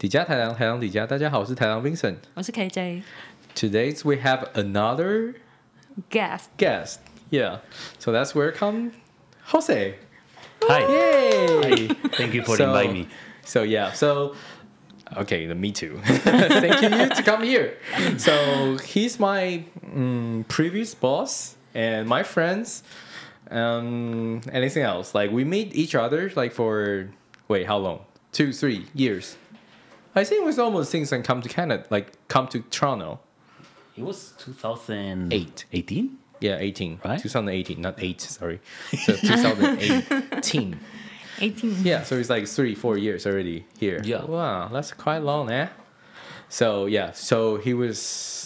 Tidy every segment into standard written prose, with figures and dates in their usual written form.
底加台郎，台郎底加，大家好，我是台郎 Vincent， 我是 KJ。 Today we have another guest. Yeah, so let's welcome Jose. Hi. Yay! Hi. Thank you for inviting me. Okay, me too. Thank you to come here. So he's my previous boss and my friends. Anything else? Like we meet each other like for how long? 2-3 years. I think it was almost since I come to Canada, like come to Toronto. It was 2008. 18? Yeah, 18. Right? 2018, not 8, sorry. So 2018. 18. Yeah, so it's like 3-4 years already here. Yeah. Wow, that's quite long, eh? So he was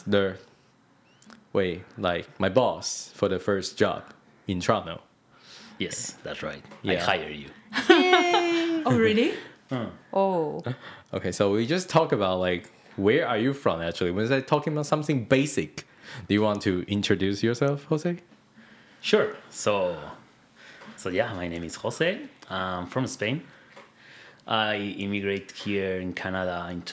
my boss for the first job in Toronto. Yes, that's right. Yeah. I hire you. Oh, really? Oh. Okay, so we just talk about like where are you from actually? Was I talking about something basic? Do you want to introduce yourself, Jose? Sure. So yeah, my name is Jose. I'm from Spain. I immigrated here in Canada in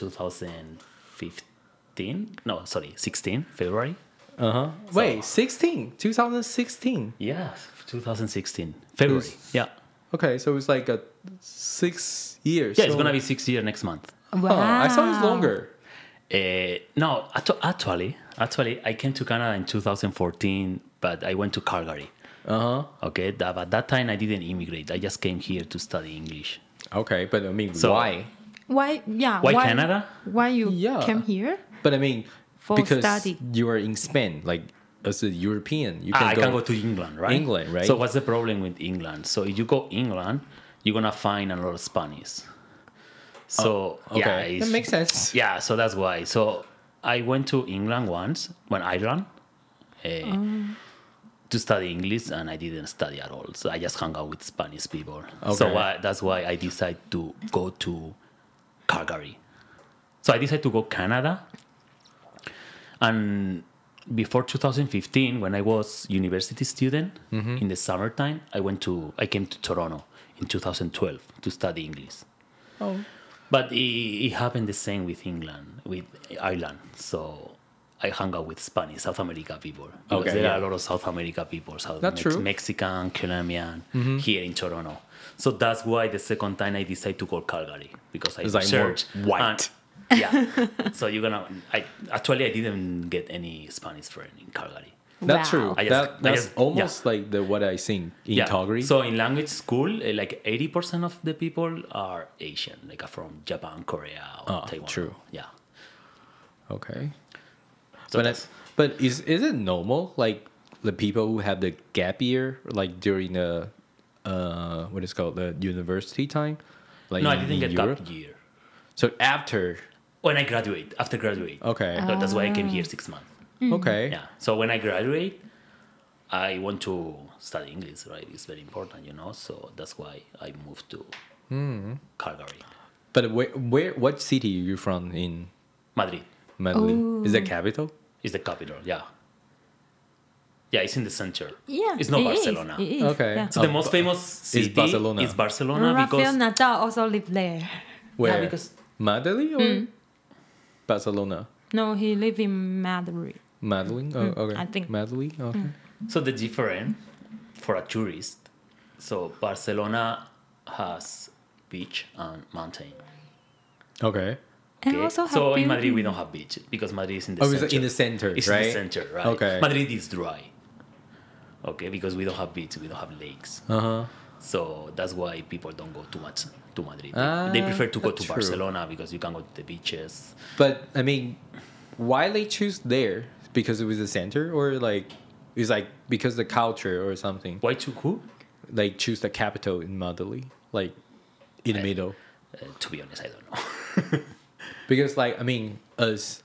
16, February. Uh-huh. Wait, 2016? Yeah, 2016, February. Yeah. Okay, so it's like 6 years. Yeah, it's going to be 6 years next month. Wow. Oh, I thought it was longer. No, actually, I came to Canada in 2014, but I went to Calgary. Uh-huh. Okay, but that time I didn't immigrate. I just came here to study English. Okay, but I mean, So- why? Why? Yeah. Why Canada? Why you Yeah. came here? But I mean, For because study. you are in Spain, like as a European, you I can go to England, right? England, right? So what's the problem with England? So if you go England, you're gonna find a lot of Spanish. So Okay, yeah, that makes sense. Yeah, so that's why. So I went to England once, Ireland, to study English, and I didn't study at all. So I just hung out with Spanish people. So Okay. that's why I decided to go to Calgary. So I decided to go Canada. And before 2015, when I was university student in the summertime, I came to Toronto in 2012 to study English. Oh. But it happened the same with England, with Ireland. So I hung out with Spanish, South America people. Because Okay, there yeah. are a lot of South America people, That's true. Mexican, Colombian, here in Toronto. So that's why the second time I decided to go Calgary, because I It's like more researched. white. Yeah. So I didn't get any Spanish friend in Calgary. That's Wow. true. I just- That's yeah. almost like what I seen in Calgary. So in language school, like 80% of the people are Asian, like from Japan, Korea, or Taiwan. true. Yeah. Okay. So But is it normal, like the people who have the gap year, like during the what is it called, the university time? Like no, I in didn't get Europe? gap year. So after. When I after graduate. Okay. So that's why I came here 6 months. Okay. Yeah. So when I graduate, I want to study English, right? It's very important, So that's why I moved to Calgary, But what city are you from in Madrid. Madrid? Is that capital? Is the capital, yeah. Yeah, it's in the center. Yeah. It's not it is. Barcelona. It is. Okay. Yeah. So the most famous city Barcelona. is Barcelona Rafael because Nadal also lived there. Where? because Madrid or Barcelona? No, he lived in Madrid. Madrid? Oh, okay. I think. Madrid? Okay. so the different for a tourist. So Barcelona has beach and mountain. Okay. And Okay? also have So in building. Madrid we don't have beach because Madrid is in the Oh, center. it's in the center, It's right? in the center, right? Okay. Madrid is dry. Okay, because we don't have beach, we don't have lakes. Uh-huh. So that's why people don't go too much to Madrid. Ah, They prefer to go that's to true. Barcelona because you can go to the beaches. But I mean, why they choose there? Because it was the center, or like it's like because the culture or something. Why to who? Like choose the capital in Madrid, like in the middle. To be honest, I don't know. Because like I mean, as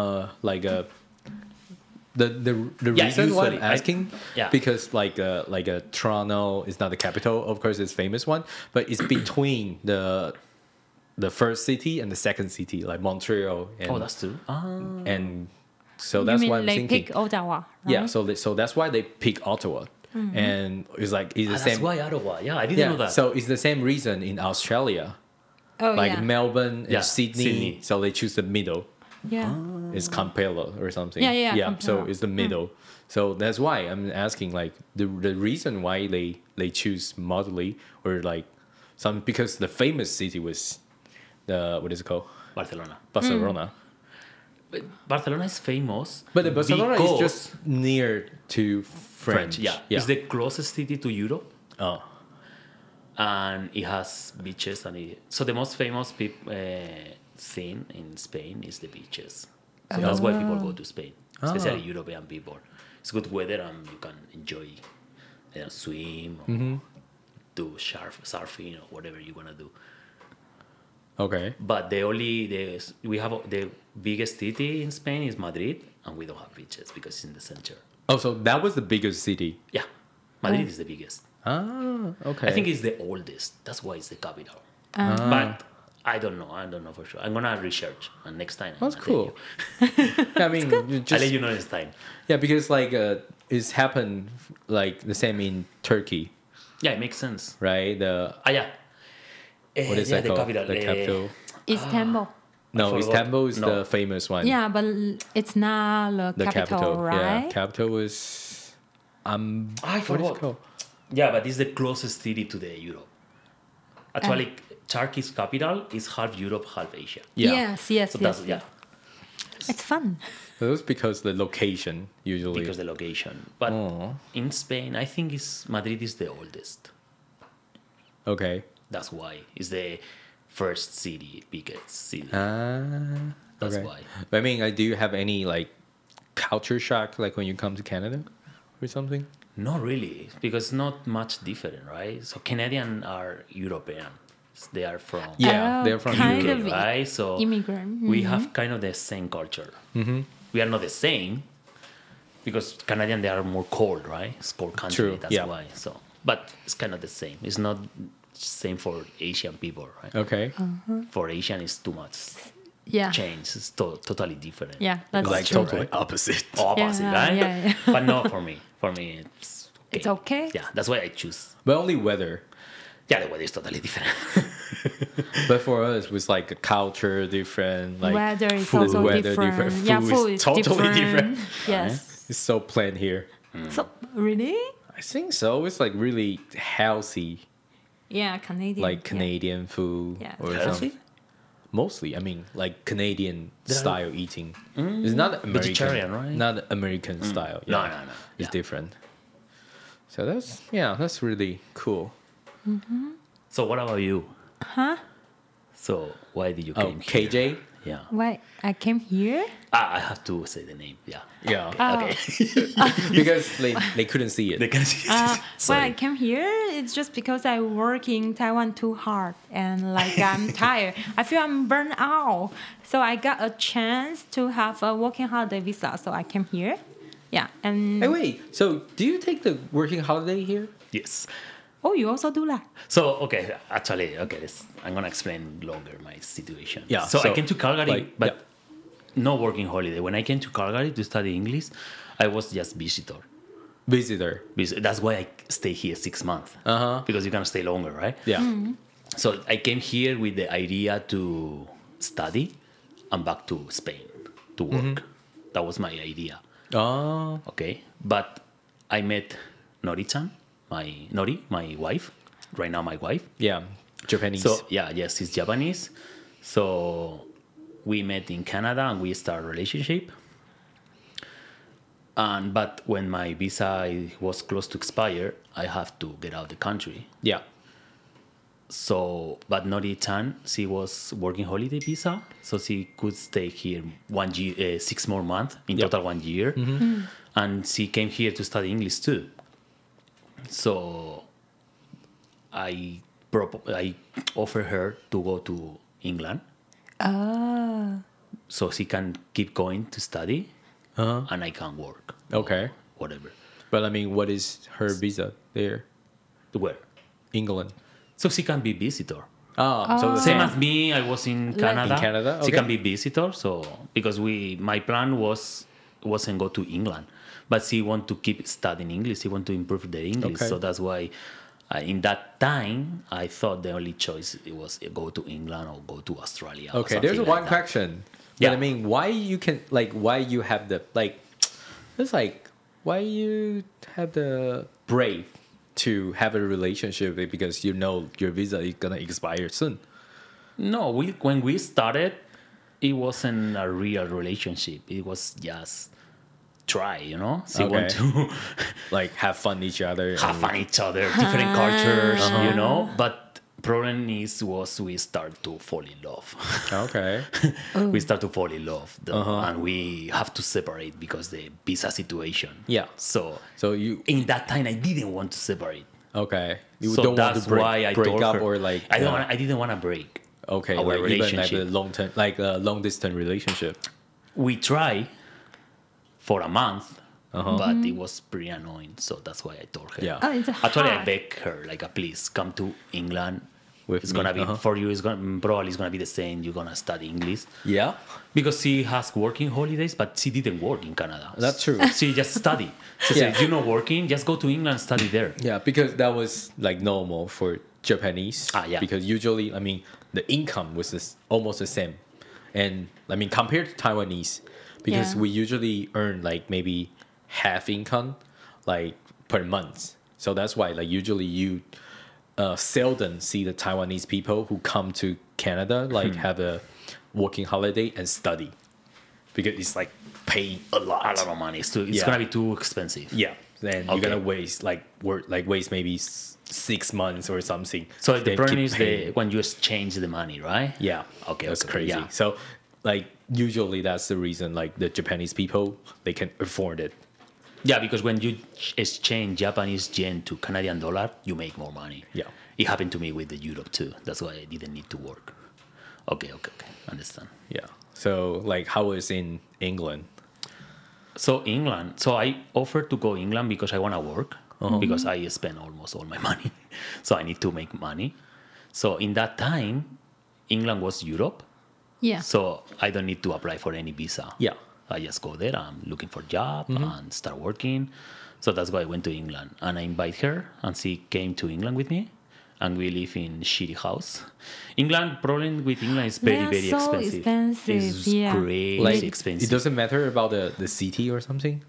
the Yeah, reason why I'm usually, asking, yeah. because like Toronto is not the capital, of course it's famous one, but it's between the first city and the second city, like Montreal. And, Oh, that's true. and so You that's mean why I'm they thinking. pick Ottawa, right? Yeah, so that's why they pick Ottawa, and it's like it's the That's same. why Ottawa. Yeah, I didn't Yeah, know that. so it's the same reason in Australia. Oh, like yeah. Melbourne and Yeah, Sydney, Sydney. so they choose the middle. Yeah. It's Campello or something. Yeah, So Campello. it's the middle. So that's why I'm asking, like, the reason why they choose Madrid, or like some, because the famous city was the, what is it called, Barcelona. Barcelona. But Barcelona is famous. But the Barcelona is because just near to French. Yeah. It's the closest city to Europe. Oh. And it has beaches. So the most famous thing in Spain is the beaches. So that's why people go to Spain, especially European people. It's good weather and you can enjoy, swim or do surfing or whatever you want to do. Okay. But we have the biggest city in Spain is Madrid, and we don't have beaches because it's in the center. Oh, so that was the biggest city. Yeah, Madrid is the biggest. Ah, okay. I think it's the oldest. That's why it's the capital. But I don't know. I don't know for sure. I'm gonna research, and next time That's I'll tell cool. you. I mean, you I'll just, let you know next time. yeah, because like it's happened like the same in Turkey, Yeah, it makes sense. right? The Yeah. what is yeah, that the called? capital. The capital. Istanbul. No, forgot. Istanbul is No. the famous one. Yeah, but it's not The the capital, right? Yeah, capital is I what is forgot. it called? Yeah, but it's the closest city to the Europe. Actually, Turkey's capital is half Europe, half Asia. Yeah. Yes. So that's It's fun. So that's because the location usually. because the location. But in Spain, I think Madrid is the oldest. Okay. That's why it's the first city, biggest city. That's Okay. why. But I mean, do you have any like culture shock like when you come to Canada or something? Not really, because not much different, right? So Canadian are European. They are from Yeah, Oh, they're from kind UK. of right? So immigrant. we have kind of the same culture. We are not the same because Canadian they are more cold, right? It's cold country. True, That's yeah. why. So, but it's kind of the same. It's not same for Asian people, right? Okay. For Asian, it's too much Yeah. change. It's totally different. Yeah, that's Like true. totally opposite. Opposite, Yeah, right? yeah. But not for me. For me, it's okay. It's okay? Yeah, that's why I choose. But only weather. Yeah, the weather is totally different. But for us, it was like a culture different, like Weather is food, also weather different. Food Yeah, is food is totally different. different. Yes. It's so plain here. So really? I think so. It's like really healthy, Yeah, Canadian. like Canadian food Yeah. or Healthy? something. Mostly, I mean, like Canadian style eating. It's not American, Vegetarian, right? Not American style. No, Yeah. no. It's Yeah. different. So that's really cool. So what about you? Huh? So why did you Oh, came here? KJ. Yeah. Why I came here? I have to say the name. Yeah. Yeah, Okay. because they couldn't see it. They can see. Why I Sorry. came here? It's just because I work in Taiwan too hard and like I'm tired. I feel I'm burnt out. So I got a chance to have a working holiday visa. So I came here. Yeah. And Hey, wait. So, do you take the working holiday here? Yes. oh, you also do that? So okay, actually, I'm gonna explain longer my situation. Yeah, So I so, came to Calgary, like, but no working holiday. When I came to Calgary to study English, I was just visitor. Visitor. That's why I stay here 6 months. Because you can stay longer, right? Yeah. So I came here with the idea to study and back to Spain to work. That was my idea. Oh. Okay. But I met Nori-chan, my wife. Right now, my wife. Yeah. Japanese. So yes, he's Japanese. So we met in Canada and we started a relationship. But when my visa was close to expire, I have to get out of the country. yeah. So, but Nori-chan, she was working holiday visa, so she could stay here 1 year, 6 more months, in Yep. total 1 year. And she came here to study English too. So I offered her to go to England so she can keep going to study and I can work. or Okay. Whatever. But I mean, what is her visa there? To where? England. So she can be visitor. Oh, so the Same same. as me, I was in Canada. In Canada? She Okay. can be visitor. So because my plan wasn't go to England, but she want to keep studying English. She want to improve the English. Okay. So that's why In that time, I thought the only choice it was go to England or go to Australia. or Okay, something there's like one that. question. But Yeah. I mean, why you have the it's like why you have the brave to have a relationship because you know your visa is gonna expire soon. No, when we started, it wasn't a real relationship. It was just try, So we want to Like have fun each other. have fun each other, different cultures, But problem was we start to fall in love. Okay. We start to fall in love, and we have to separate because the visa situation. Yeah. So you in that time, I didn't want to separate. okay. You So don't want that's to break, why I break told up her. or like I didn't want to break. okay, our like even like relationship. a long term like a long distance relationship. We try for a month, Uh-huh. but it was pretty annoying. So that's why I told her. Yeah. Oh, it's Actually, I hard. begged her like, please come to England. With It's me, gonna be uh-huh. for you. It's gonna probably it's gonna be the same. You're gonna study English Yeah. because she has working holidays, but she didn't work in Canada. That's true. She just study. She Yeah. said, "You're not working. Just go to England and study there." Yeah, because that was like normal for Japanese. Yeah. Because usually, I mean, the income was almost the same, and I mean compared to Taiwanese, because Yeah. we usually earn like maybe half income, like per month. So that's why like usually you seldom see the Taiwanese people who come to Canada like have a working holiday and study, because it's like paying a lot. A lot of money. It's Yeah. gonna be too expensive. Yeah, then you're Okay. gonna waste waste maybe 6 months or something. So the Then problem keep is paying. when you exchange the money, right? Yeah. Okay, That's okay, crazy. yeah. So like usually that's the reason like the Japanese people they can afford it. Yeah, because when you exchange Japanese yen to Canadian dollar, you make more money. Yeah. It happened to me with the Europe too. That's why I didn't need to work. Okay. Understand. Yeah. So like how is in England? So England. So I offered to go England because I want to work because I spend almost all my money. So I need to make money. So in that time, England was Europe. Yeah. So I don't need to apply for any visa. Yeah. I just go there. I'm looking for a job and start working. So that's why I went to England. And I invite her and she came to England with me. And we live in shitty house. England, problem with England is very, They are very so expensive. expensive, It's yeah. crazy Like expensive. it doesn't matter about the city or something.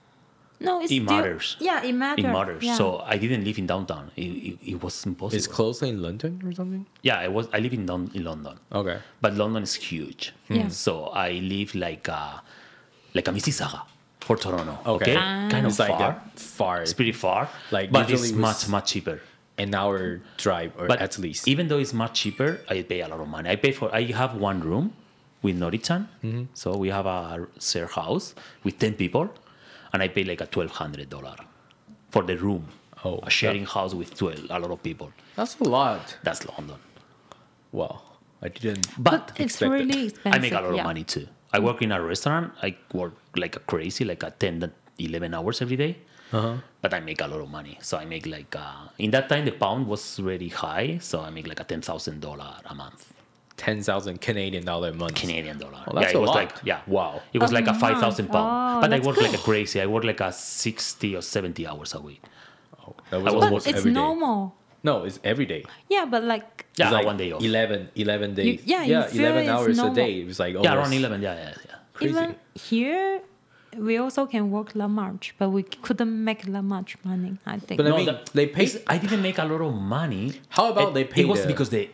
No, it's It still, matters. Yeah, it matters. It matters. Yeah. So I didn't live in downtown. It was impossible. It's close in London or something. Yeah, I live in London. Okay. But London is huge. Yeah. So I live like a Mississauga for Toronto. Okay. Kind of It's like far. far. It's pretty far. Like, but usually it's was- much, much cheaper. an hour drive or But at least. even though it's much cheaper, I pay a lot of money. I have one room with Nori-chan. So we have a share house with 10 people, and I pay like a $1,200 for the room. Oh, a sharing house with a lot of people. That's a lot. That's London. Wow. I didn't. But It's expected. really expensive. I make a lot of yeah. money too. I work in a restaurant. I work like a crazy, like a 10 to 11 hours every day. But I make a lot of money. So I make like, in that time, the pound was really high. So I make like a $10,000 a month. 10,000 Canadian dollar a month. Canadian dollar. Well, that's it a was lot. like, Wow. It was A like a month. 5,000 pound. Oh, But I that's work like a good. crazy. I work like a 60 or 70 hours a week. That I was was But almost it's every day. normal. No, it's every day. Yeah, but like Yeah, It's like one day off. 11 days. yeah, you feel 11 it's hours normal. a day. It was like Yeah, almost around 11. Yeah. crazy. even here, we also can work that much, but we couldn't make that much money. I think. But I mean, they pay. I didn't make a lot of money. How about they pay It was the- because the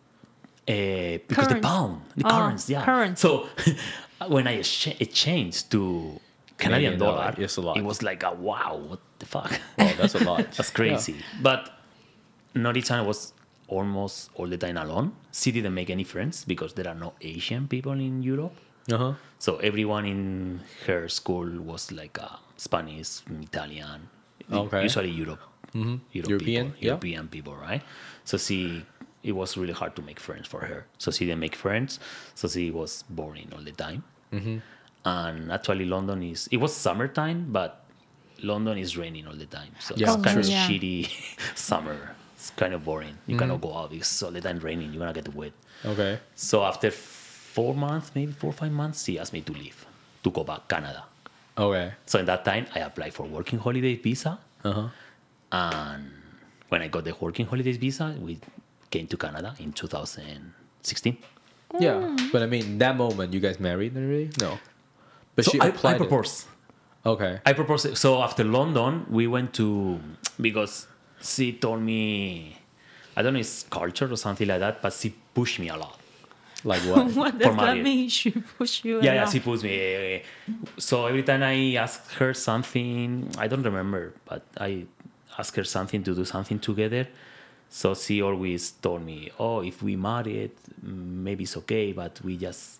the Currents. pound, the Oh, currents, yeah. currents. So when I changed to Canadian dollar, it's a lot. it was like a wow, what the fuck? Wow, that's a lot. That's crazy. But Nori-chan was almost all the time alone. She didn't make any friends because there are no Asian people in Europe. Uh-huh. So everyone in her school was like Spanish, Italian, Okay. usually Europe, European, people, yeah. European people, right? So it was really hard to make friends for her. So she didn't make friends. So she was boring all the time. And actually, it was summertime, but London is raining all the time. So Yeah, it's kind of true. Yeah. shitty summer. It's kind of boring. You cannot go out. It's all the time raining. You're going to get wet. Okay. So after 4 months, maybe 4 or 5 months, she asked me to leave, to go back Canada. Okay. So in that time, I applied for working holiday visa. Uh-huh. And when I got the working holidays visa, we came to Canada in 2016. Yeah, but I mean, that moment you guys married already? No. But So she I applied. proposed. Okay. I proposed. So after London, we went to, because she told me, I don't know if it's culture or something like that, but she pushed me a lot. Like what? What does that marriage. mean? She push you? Yeah, around? she pushed me. So every time I asked her something, I don't remember, but I asked her something to do something together. So she always told me, "Oh, if we married, maybe it's okay, but we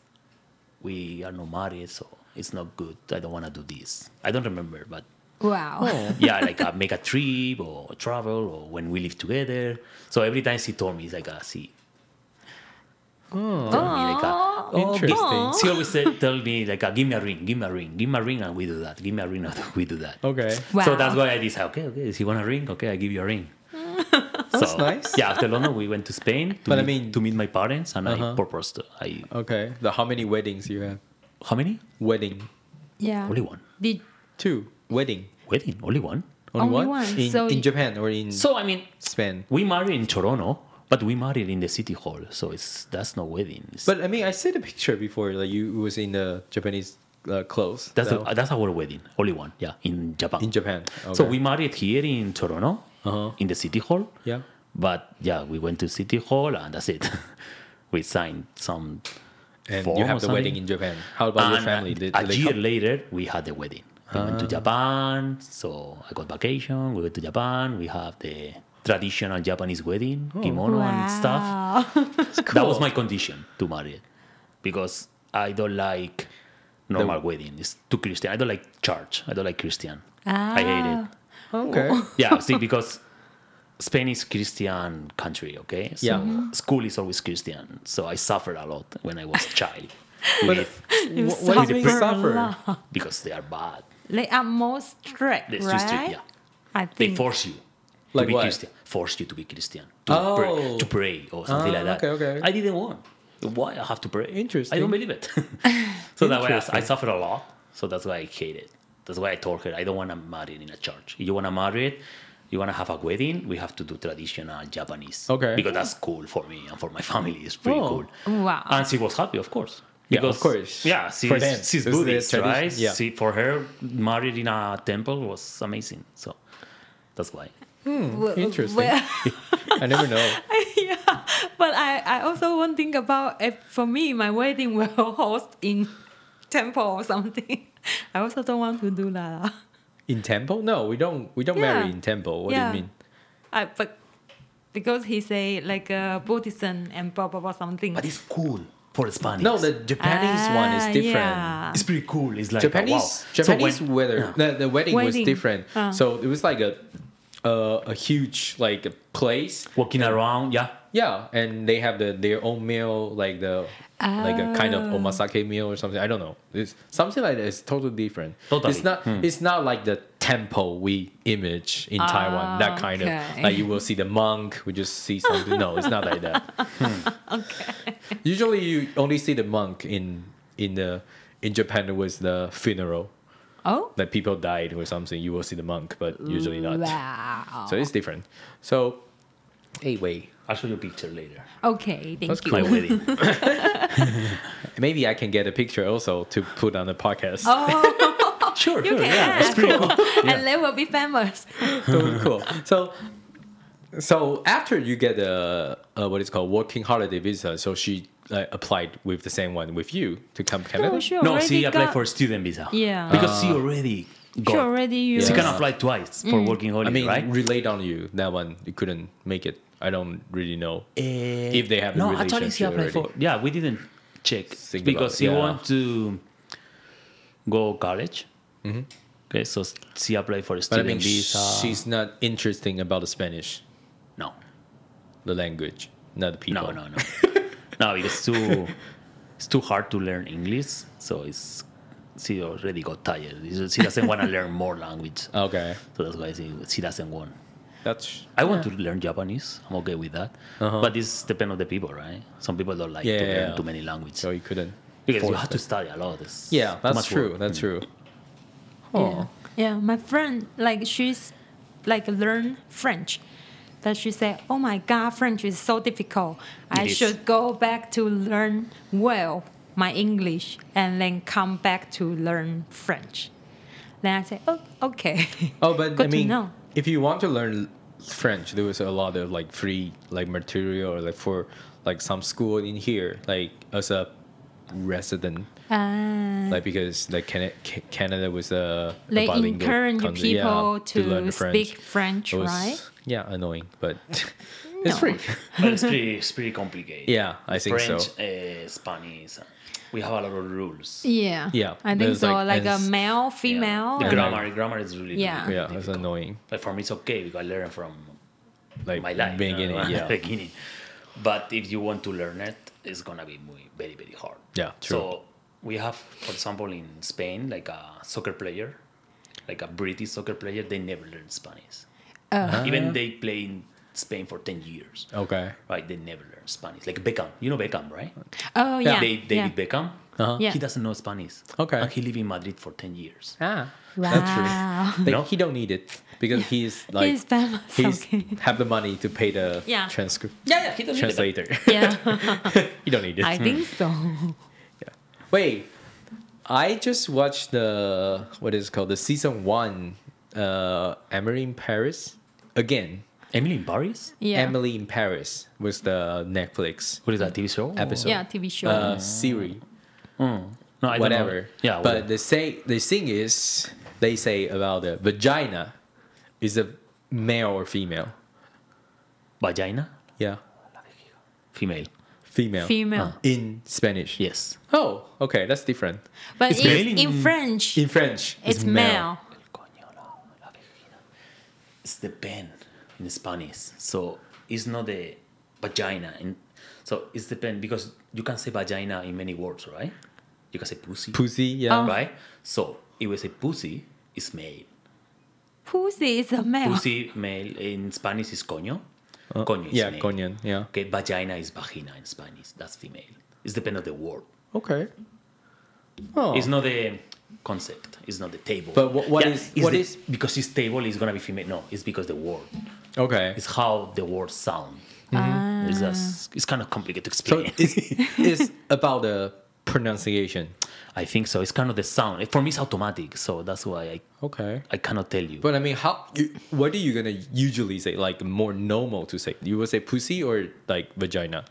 are not married, so it's not good. I don't want to do this." I don't remember, but Wow. yeah, like make a trip or travel or when we live together. So every time she told me, it's like, she told me like, Interesting. she always tell me like, give me a ring, and we do that. Give me a ring, and we do that. Okay. Wow. So that's why I decided, okay, if you want a ring, okay, I give you a ring. That's nice. Yeah, after London, we went to Spain But I mean- to meet my parents, and I Uh-huh. proposed. Okay. How many weddings you have? How many? Wedding. Yeah. Only one. Did 2. Wedding. Wedding, only one. Only one. In, So in Japan or in So I mean, Spain? we married in Toronto, but we married in the city hall, so that's no wedding. But I mean, I see the picture before. Like you was in the Japanese clothes. That's our wedding, only one. Yeah, in Japan. in Japan. Okay. So we married here in Toronto, Uh-huh. in the city hall. Yeah. But yeah, we went to city hall and that's it. We signed some. And form you or have the something. wedding in Japan. How about your And family? Did a they year come? later, we had the wedding. We went to Japan, so I got vacation. We went to Japan. We have the traditional Japanese wedding, kimono and stuff. That was my condition to marry it, because I don't like normal wedding. It's too Christian. I don't like church. I don't like Christian. I hate it. Okay. Yeah, see, because Spain is Christian country, okay? So Yeah. school is always Christian. So I suffered a lot when I was a child. But with, what do you mean suffer a suffer? lot. because they are bad. They are more strict, They're right? too strict, yeah. I They think. force you Like to be what? Christian. Force you to be Christian. To, Oh. to pray or something like that. okay, okay. I didn't want. Why I have to pray? Interesting. I don't believe it. So that way Interesting. I suffered a lot. So that's why I hate it. That's why I told her I don't want to marry in a church. If you want to marry it, you want to have a wedding, we have to do traditional Japanese. Okay. Because that's cool for me and for my family. It's pretty Oh. cool. Wow. And she was happy, of course. Yeah, of Because, course. Yeah, For them. she's This is the Buddhist, tradition. right? Yeah. For her, married in a temple was amazing. So that's why. Interesting. Well, I never know. yeah, but I also want to think about if for me my wedding will host in temple or something. I also don't want to do that. In temple? No, we don't. We don't Yeah. marry in temple. What do Yeah. you mean? But because he say like Buddhism and blah blah blah something. But it's cool for Spanish. No, the Japanese one is different. Yeah. it's pretty cool. It's like Japanese wow. Japanese So when- weather. The wedding was Wedding. different. So it was like a huge like place. walking around, yeah. Yeah, and they have their own meal, like like a kind of omasake meal or something. I don't know. It's something like that. It's totally different. Totally. It's not. It's not like the temple we image in Taiwan. That kind okay. of like you will see the monk. We just see something. No, it's not like that. Okay. Usually, you only see the monk in Japan. It was the funeral. Oh. Like people died or something. You will see the monk, but usually not. Wow. So it's different. So, anyway. I'll show you a picture later. Okay, thank That's you. My wedding. Maybe I can get a picture also to put on the podcast. Oh, Sure, you sure. can Yeah, that's ask. pretty cool. And they will be famous. Totally cool. So after you get a what is called working holiday visa, so she applied with the same one with you to come to Canada. No, she No, already she applied got- for student visa. Yeah. Because she already got. She already used. She Yeah. can apply twice for working holiday, I mean, right? relate on you that one. You couldn't make it. I don't really know if they have a no, relationship actually, she applied already. for. Yeah, we didn't check Think because about she it, yeah. want to go college. Okay, so she applied for a But I student mean, visa. she's not interesting about the Spanish, no, the language, not the people. no, no, because it's too hard to learn English. So she already got tired. She doesn't want to learn more language. Okay, So that's why she doesn't want. that's I want to learn Japanese. I'm okay with that. But this depends on the people, right? Some people don't like to learn Yeah. too many languages. so you couldn't. Because you force have to it. study a lot. It's Yeah, too that's much true. work. That's true. Yeah. Yeah, my friend, like she's like learn French. that she said, "Oh my God, French is so difficult. I It is. should go back to learn well my English and then come back to learn French." Then I said, "Oh, okay." Oh, but Good I to mean, know. if you want to learn French, there was a lot of like free like material or like for like some school in here, like as a resident, like because like Canada was a They bilingual encourage country, people to learn speak French, It was, right? Yeah, annoying, but it's No. free. But it's pretty complicated. Yeah, I think French, so. Spanish, we have a lot of rules. Yeah. Yeah, I think there's, so. like, Like a and- male, Yeah. female. The and- grammar is really, Yeah. really Yeah, it's difficult. annoying. Like for me, it's okay because I learned from Like my life, beginning, yeah. beginning. But if you want to learn it, it's gonna be very, very hard. Yeah, true. So we have, for example, in Spain, like a soccer player, like a British soccer player, they never learn Spanish. Even they play in Spain for 10 years, Okay. right? They never learn Spanish. Like Beckham, you know Beckham, right? Oh yeah. David Beckham. Uh-huh. Yeah. He doesn't know Spanish. Okay. And he lived in Madrid for 10 years. Ah, Wow. that's true. Like, No? he don't need it because he's like He's famous. he's Okay. have the money to pay the Yeah. transcript Yeah, he doesn't need it. translator. Yeah. You don't need it. I think so. Wait, I just watched the what is it called the season 1, Emily in Paris again. Emily in Paris? Yeah. Emily in Paris was the Netflix What is that, TV show? episode. Yeah, TV show. Series. No, I don't Whatever. know. Yeah, but the thing is, they say about the vagina is a male or female. Vagina? Yeah, Female. female. Female. In Spanish. Yes. Oh, okay, that's different. But It's in, male in in- French, In French, it's male. It's the pen in Spanish. So it's not the vagina. So it's the pen because you can say vagina in many words, right? You can say pussy, Pussy, yeah. Oh. right? So if we say pussy, it's male. Pussy is a male. Pussy, male. In Spanish is coño. Coño is Yeah, male. coño, yeah. Okay, vagina is vagina in Spanish. That's female. It's depend of the word. Okay. Oh. It's not the concept. It's not the table. But what is- it's what the- is- because it's table is gonna be female? No, it's because the word. Okay. It's how the words sound. It's kind of complicated to So explain. it's about the pronunciation. I think so. It's kind of the sound. For me, it's automatic, so that's why Okay. I cannot tell you. But I mean, what are you gonna usually say? Like more normal to say? You would say pussy or like vagina?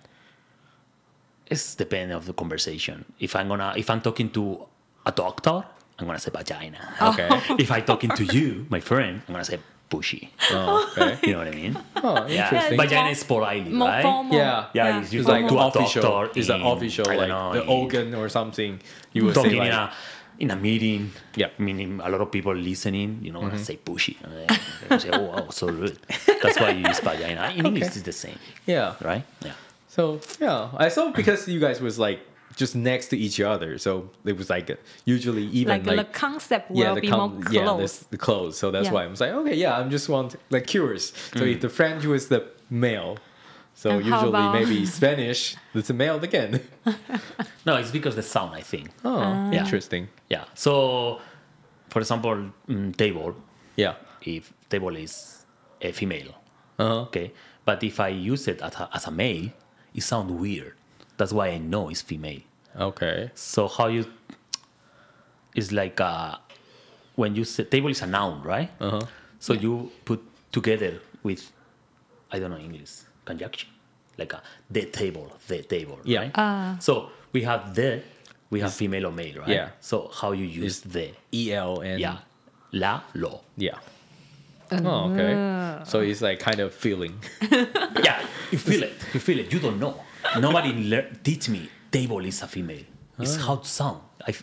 It's depending of the conversation. If I'm talking to a doctor, I'm gonna say vagina. Okay. If I'm talking to you, my friend, I'm gonna say pushy. Oh, okay. You know what I mean? Oh, Yeah. interesting. Vagina is politely, More right? formal. Yeah. Yeah, it's It's used like to a official. doctor It's an in- official, I don't like know, the in- organ or something. You would say Talking like, in a meeting. Yeah. Meaning a lot of people listening, say pushy. They say, oh, wow, so rude. That's why you use vagina. In English, it's the same, yeah. right? Yeah. So yeah, I saw because you guys was like just next to each other, so it was like usually even Like the concept will yeah, be more close. the clothes. So that's Yeah. why I was like, okay, yeah, I'm just like curious. So if the French was the male, so And how usually about- maybe Spanish, it's a male again. No, it's because the sound, I think. Oh, Yeah. interesting. Yeah. So, for example, table, Yeah. if table is a female, Uh-huh. okay? But if I use it as a male, it sounds weird. That's why I know it's female. Okay. So how you... It's like when you say... Table is a noun, right? Uh-huh. So you put together with, I don't know English, conjunction. Like the table, Yeah. right? So we have we have female or male, right? Yeah. So how you use the... EL and Yeah. La, lo. yeah. Oh, okay. So it's like kind of feeling. Yeah, you feel it. You feel it. You don't know. Nobody teach me table is a female. It's how to sound.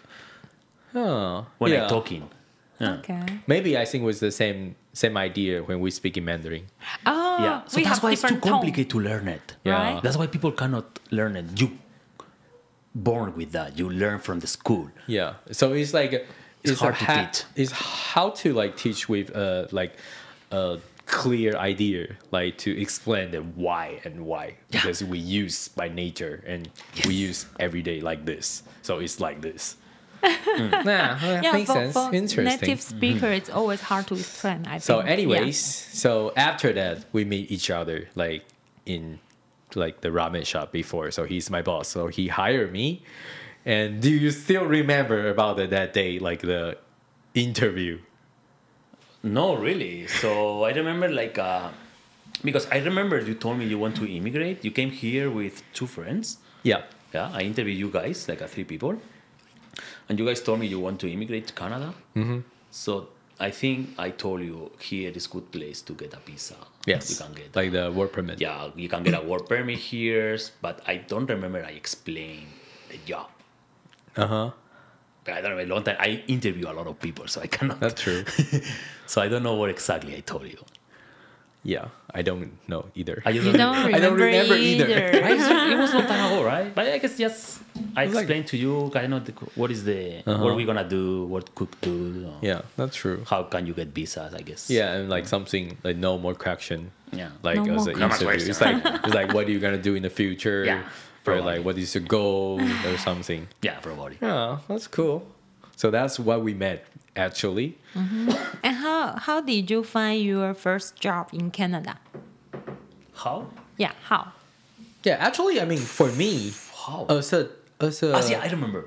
Oh, When yeah. I'm talking. Yeah. Okay. Maybe I think it was the same idea when we speak in Mandarin. Oh, Yeah. So we that's have why it's too different tone. complicated to learn it. Yeah. Right? That's why people cannot learn it. You born with that. You learn from the school. Yeah. So it's like It's hard to teach. It's how to like teach with like a clear idea, like to explain the why and why because we use by nature and we use every day like this. So it's like this. Yeah, that Yeah, makes sense. for Interesting. native speaker, it's always hard to explain. I So, think. Yeah. anyways, so after that, we meet each other like in like the ramen shop before. So he's my boss. So he hired me. And do you still remember about that day, like the interview? No, really. So I remember because I remember you told me you want to immigrate. You came here with 2 friends. Yeah. Yeah, I interviewed you guys, 3 people. And you guys told me you want to immigrate to Canada. Mm-hmm. So I think I told you here is good place to get a visa. Yes. You can get like the work permit. yeah, you can get a work permit here. But I don't remember I explained the job. Uh-huh. But I don't know, a long time. I interview a lot of people, so I cannot. That's true. So I don't know what exactly I told you. Yeah. I don't know either. I just You don't remember, I don't remember either. Right? It was long time ago, right? But I guess just I was like- explained to you kind of what is the what are we gonna do, what could do, Yeah, that's true. how can you get visas? I guess. Yeah, and like something like no more question. Yeah. Like No as more an No more interview. question. It's like what are you gonna do in the future? Yeah, Or probably. like what is your goal or something. Yeah, probably. Yeah, that's cool. So that's what we met actually. And how did you find your first job in Canada? How? Yeah, how? Yeah, actually, I mean, for me, How? as a yeah, I remember.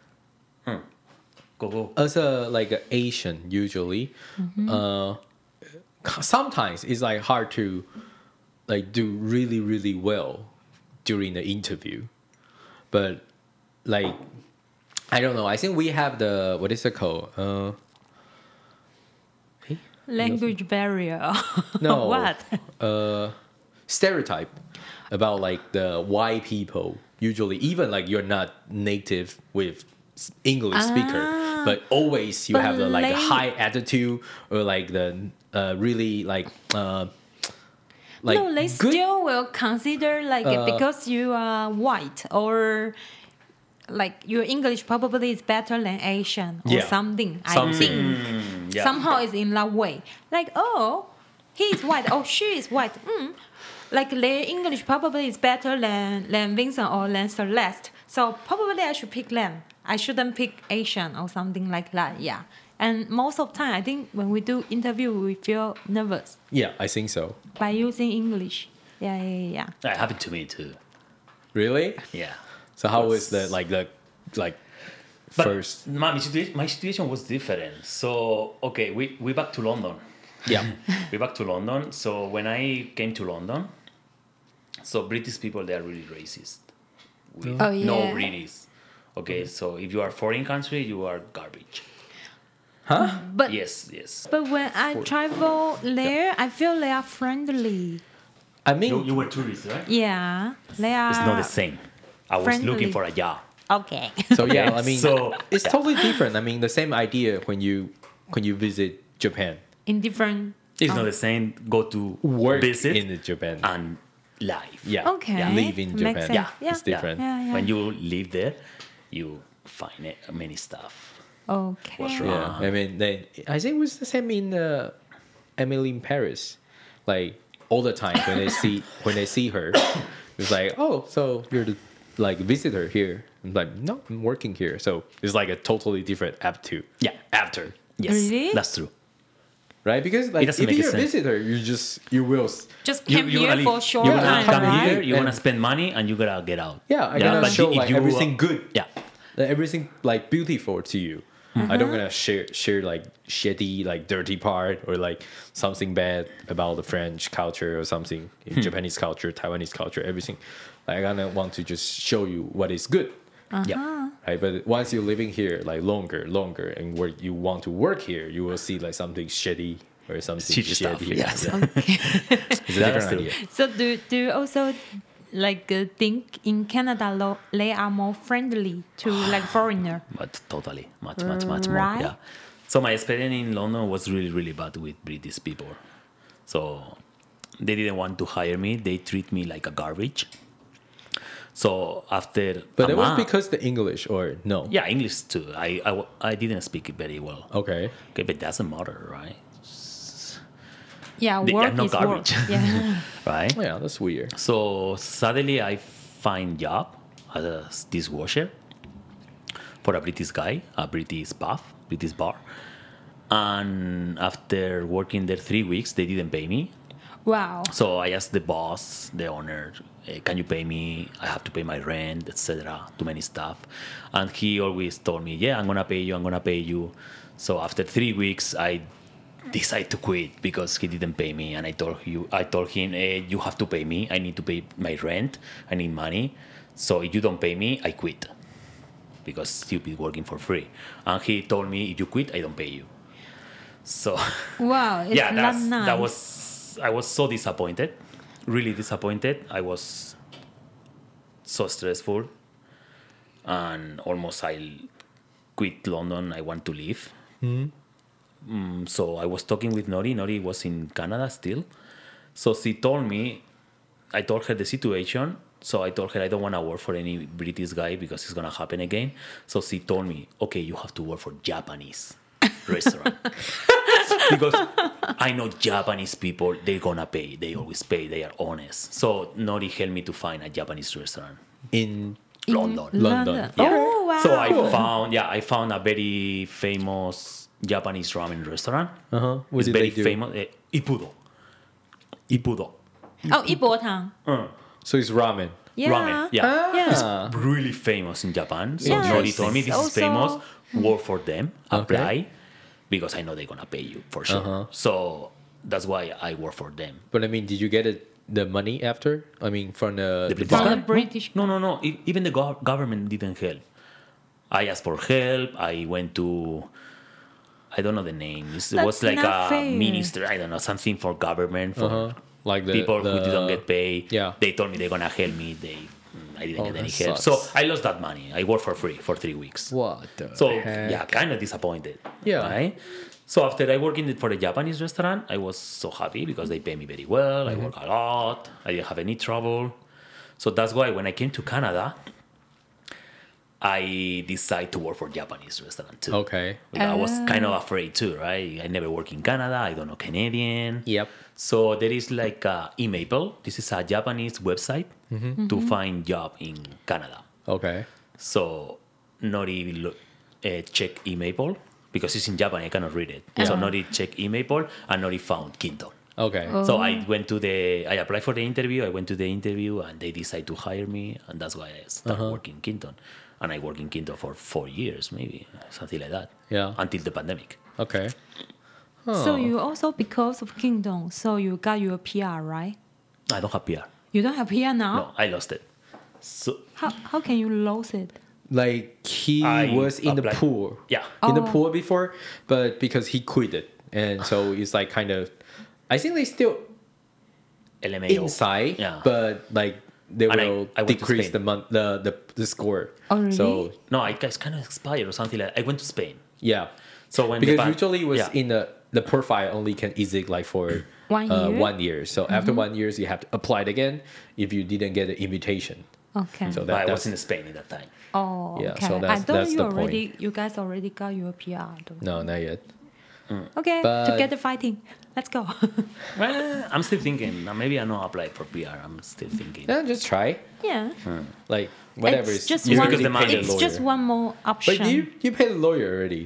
Go. as a like a Asian usually, sometimes it's like hard to like do really really well during the interview, but like I don't know. I think we have the what is it called? Language barrier. No. What? Stereotype about like the white people usually even like you're not native with English speaker, but always you But have the like the lang- high attitude or like the really like No, they good. still will consider like because you are white or like your English probably is better than Asian or Yeah. something. I Something. think Yeah. somehow it's in that way. Like oh, he is white. Oh, she is white. Like their English probably is better than Vincent or than Celeste. So probably I should pick them. I shouldn't pick Asian or something like that. Yeah. And most of the time, I think when we do interview, we feel nervous Yeah, I think so. by using English. Yeah. That happened to me too. Really? Yeah. So how was the like But first? my situation was different. So okay, we back to London. Yeah. We back to London. So when I came to London, so British people they are really racist. With Oh, yeah. no British. Okay, so if you are foreign country, you are garbage. Huh? But Yes. but when I travel there, I feel they are friendly. I mean, You were tourist, right? Yeah, they are. It's not the same. I was friendly. looking for a job. Okay. so yeah, Okay, I mean, so- it's yeah. totally different. I mean, the same idea when you visit Japan, In different. It's not the same. Go to work visit in Japan. and live. Yeah. Okay. Yeah. Live in Makes Japan. sense. Yeah. Yeah. It's different. Yeah. When you live there, you find many stuff. Okay. What's wrong? Yeah, I mean, I think it was the same in Emily in Paris. Like all the time when they see her, it's like, oh, so you're the like visitor here. I'm like, no, I'm working here. So it's like a totally different attitude. Yeah. After, Yes, Really? that's true. right? Because like doesn't if make you're a sense. visitor, you will. Just came You here wanna for leave. short You wanna time, come right? here. You wanna And- spend money, and you gotta get out. Yeah, I gotta but show if like you- everything good. Yeah. Everything like beautiful to you. I don't gonna share like shitty like dirty part or like something bad about the French culture or something, Japanese culture, Taiwanese culture, everything. Like, I gonna want to just show you what is good. Yeah. Right, but once you're living here like longer, and where you want to work here, you will see like something shitty or something Shitty stuff, shitty. yes. It's a That's different true. idea. So do you also like think in Canada they are more friendly to like foreigner? But totally, much more. Right. Yeah. So my experience in London was really bad with British people. So they didn't want to hire me. They treat me like a garbage. So after, But a it was month- because the English or no? yeah, English too. I didn't speak it very well. Okay. Okay, but doesn't matter, right? Yeah, They are work not is garbage. work. Yeah. Right. Oh, yeah, that's weird. So suddenly I find job as a dishwasher. for a British guy, a British bar. And after working there 3 weeks, they didn't pay me. Wow. So I asked the boss, the owner, can you pay me? I have to pay my rent, etc. Too many stuff. And he always told me, yeah, I'm going to pay you. So after 3 weeks, I decided to quit because he didn't pay me. And I told him, you have to pay me. I need to pay my rent. I need money. So if you don't pay me, I quit. Because stupid working for free. And he told me, if you quit, I don't pay you. So Wow. It's yeah, not nice. I was so disappointed, really disappointed. I was so stressful, and almost I quit London. I want to leave. So I was talking with Nori. Nori was in Canada still. So she told me, I told her the situation. So I told her I don't want to work for any British guy because it's going to happen again. So she told me, okay, you have to work for Japanese restaurant. Because I know Japanese people, they're going to pay. They always pay. They are honest. So Nori helped me to find a Japanese restaurant In London. London. Yeah. Oh, wow. So I found a very famous Japanese ramen restaurant. What It's did very they do? famous. Ippudo. Oh, 一钵汤. So it's ramen. Yeah. Ramen. Yeah. Ah. It's really famous in Japan. So Yeah, Nori told me this is also- famous. Work for them. Okay. Apply. Because I know they're going to pay you for sure. So that's why I work for them. But I mean, did you get the money after? I mean, from the The British From guy? the British. No. Even the government didn't help. I asked for help. I went to, I don't know the name. It That's was like not a fair. minister. I don't know, something for government, for Like the people who didn't get paid. Yeah. They told me they're going to help me. I didn't get any that help. sucks. So I lost that money. I worked for free for 3 weeks. What the So heck? yeah, kind of disappointed. Yeah. Right? So after I worked for the Japanese restaurant, I was so happy because they pay me very well. I work a lot. I didn't have any trouble. So that's why when I came to Canada, I decided to work for Japanese restaurant too. Okay. Because I was kind of afraid too, right? I never worked in Canada. I don't know Canadian. Yep. So there is like eMaple. This is a Japanese website to find job in Canada. Okay. So Nori check eMaple because it's in Japan. I cannot read it. So Nori check eMaple and Nori found Kinton. Okay. So I applied for the interview. I went to the interview and they decided to hire me. And that's why I started working in Kinton. And I worked in Kinton for 4 years, maybe something like that. Yeah. Until the pandemic. Okay. So you also, because of Kingdom, so you got your PR, right? I don't have PR. You don't have PR now? No, I lost it. So How can you lose it? Like he I was in the applied- pool. Yeah. In the Oh. pool before, but because he quit it. And so it's like kind of, I think they still LMAO. inside, Yeah. but like they And will I went to decrease Spain. the score. Oh, really? So No, it's kind of expired or something like that. I went to Spain. yeah, So when because the usually it was yeah. in the profile only can exist like for 1 year? 1 year. So after 1 year, you have to apply it again if you didn't get an invitation. Okay. So But I that's was in Spain at that time. Oh, Yeah, okay. so I that's- thought that's the point. you guys already got your PR. Though. no, not yet. Okay, But- together fighting. Let's go. Well, I'm still thinking. Maybe I not apply for PR. I'm still thinking. Yeah, just try. yeah. Like whatever. It's just It's one. because the money- It's just one more option. But you paid the lawyer already.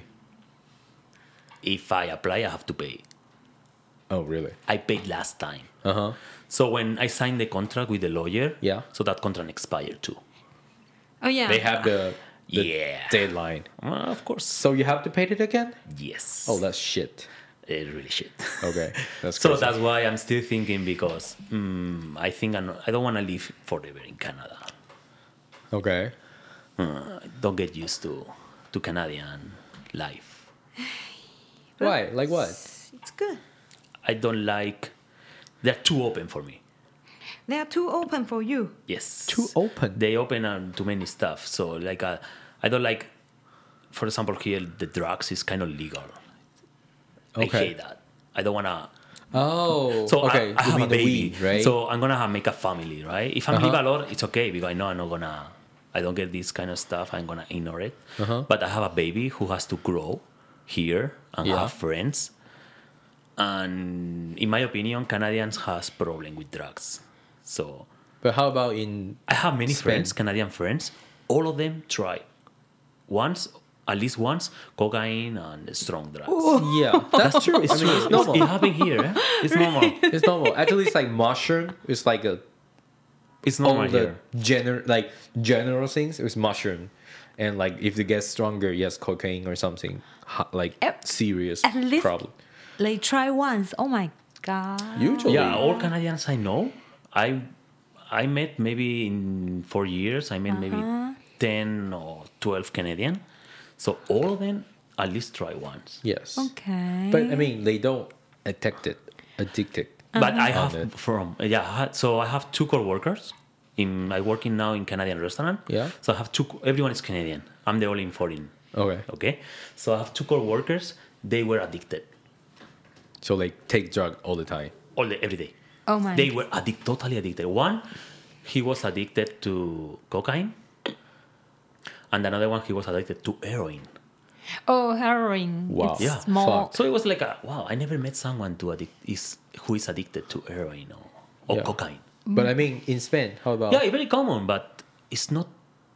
If I apply, I have to pay. Oh really? I paid last time. Uh-huh. So when I signed the contract with the lawyer, Yeah. so that contract expired too. oh yeah. They have the Yeah. deadline. Of course. So you have to pay it again? Yes. Oh, that's shit. really shit. Okay, that's So crazy. that's why I'm still thinking because I think I don't want to live forever in Canada. Okay. Don't get used to Canadian life. Why? Like what? It's good. I don't like. They're too open for me. They are too open for you. Yes. Too open. They open too many stuff. So like I don't like. For example, here the drugs is kind of legal. I Okay. hate that. I don't wanna. Oh. So okay. I You have mean a the baby, weed, right? So I'm gonna make a family, right? If I'm Uh-huh. live alone, it's okay because I know I'm not gonna. I don't get this kind of stuff. I'm gonna ignore it. Uh-huh. But I have a baby who has to grow here and Yeah. have friends. And in my opinion, Canadians has problem with drugs. So But how about in? I have many Spain. friends, Canadian friends. All of them try at least once, cocaine and strong drugs. Yeah, that's true. It's true. It's normal. It happened here. Eh? It's normal. It's normal. Actually, it's like mushroom. It's like It's all normal the here. general things. It's mushroom, and like if it gets stronger, yes, cocaine or something serious At least problem. they try once. Oh my god. Usually, Yeah, all Canadians I know, I met maybe in 4 years, I met maybe 10 or 12 Canadian. So all of them at least try once. yes. Okay. But I mean, they don't addicted. But I On have it. so I have two co-workers. I working now in Canadian restaurant. Yeah. So I have everyone is Canadian. I'm the only foreign. Okay. Okay. So I have two co-workers. They were addicted So they take drug all the time. every day. Oh my. They were totally addicted. One, he was addicted to cocaine, and another one he was addicted to heroin. Oh, heroin. Wow. It's Yeah. more. Fuck. So it was like wow, I never met someone who is addicted to heroin or Yeah. cocaine. But I mean, in Spain, how about? Yeah, it's very common, but it's not.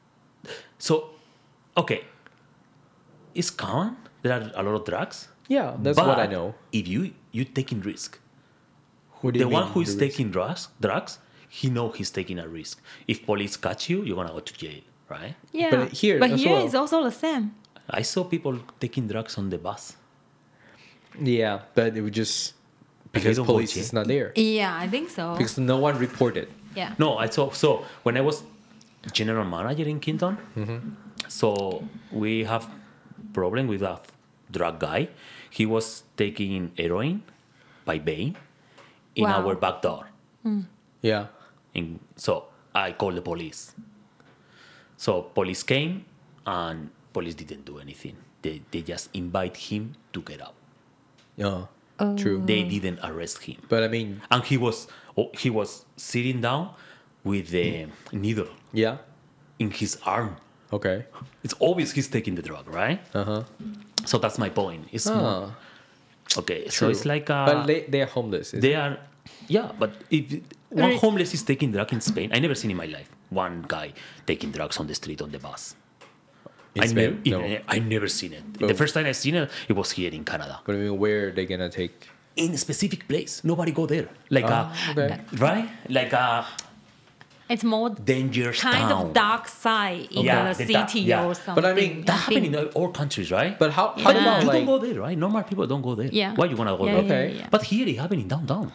So, okay, it's common. There are a lot of drugs. Yeah, that's but what I know. If you taking risk, What do you the mean, one who is the risk? taking drugs, he know he's taking a risk. If police catch you, you're gonna go to jail, right? Yeah. But here but as here well- it's also the same. I saw people taking drugs on the bus. Yeah, but it would just They because don't go police jail. is not there. Yeah, I think so. Because no one reported. Yeah. No, I saw. So when I was general manager in Kinton, so we have problem with a drug guy. He was taking heroin by vein in Wow. our back door. Yeah. So I called the police. So police came and police didn't do anything. They just invite him to get out. Yeah. True. They didn't arrest him. But I mean, And he was sitting down with the needle yeah. in his arm. Okay. It's obvious he's taking the drug, right? Uh-huh. So that's my point. It's more, okay. So True. it's like But they're homeless. they are, yeah. But if one Re- homeless is taking drug in Spain, I never seen in my life one guy taking drugs on the street on the bus. in Spain? No. I never seen it. But- The first time I seen it, it was here in Canada, But I mean, where are they gonna take? in a specific place. Nobody go there. Like okay. right? Like a It's more dangerous kind town. of dark side in Yeah, the the dark- city yeah. or something. But I mean, That I happen think. in all countries, right? But how Yeah. about You like? don't go there, right? Normal people don't go there. Yeah. Why you gonna go Yeah, there? yeah, Okay. yeah, yeah. But here it happened in downtown.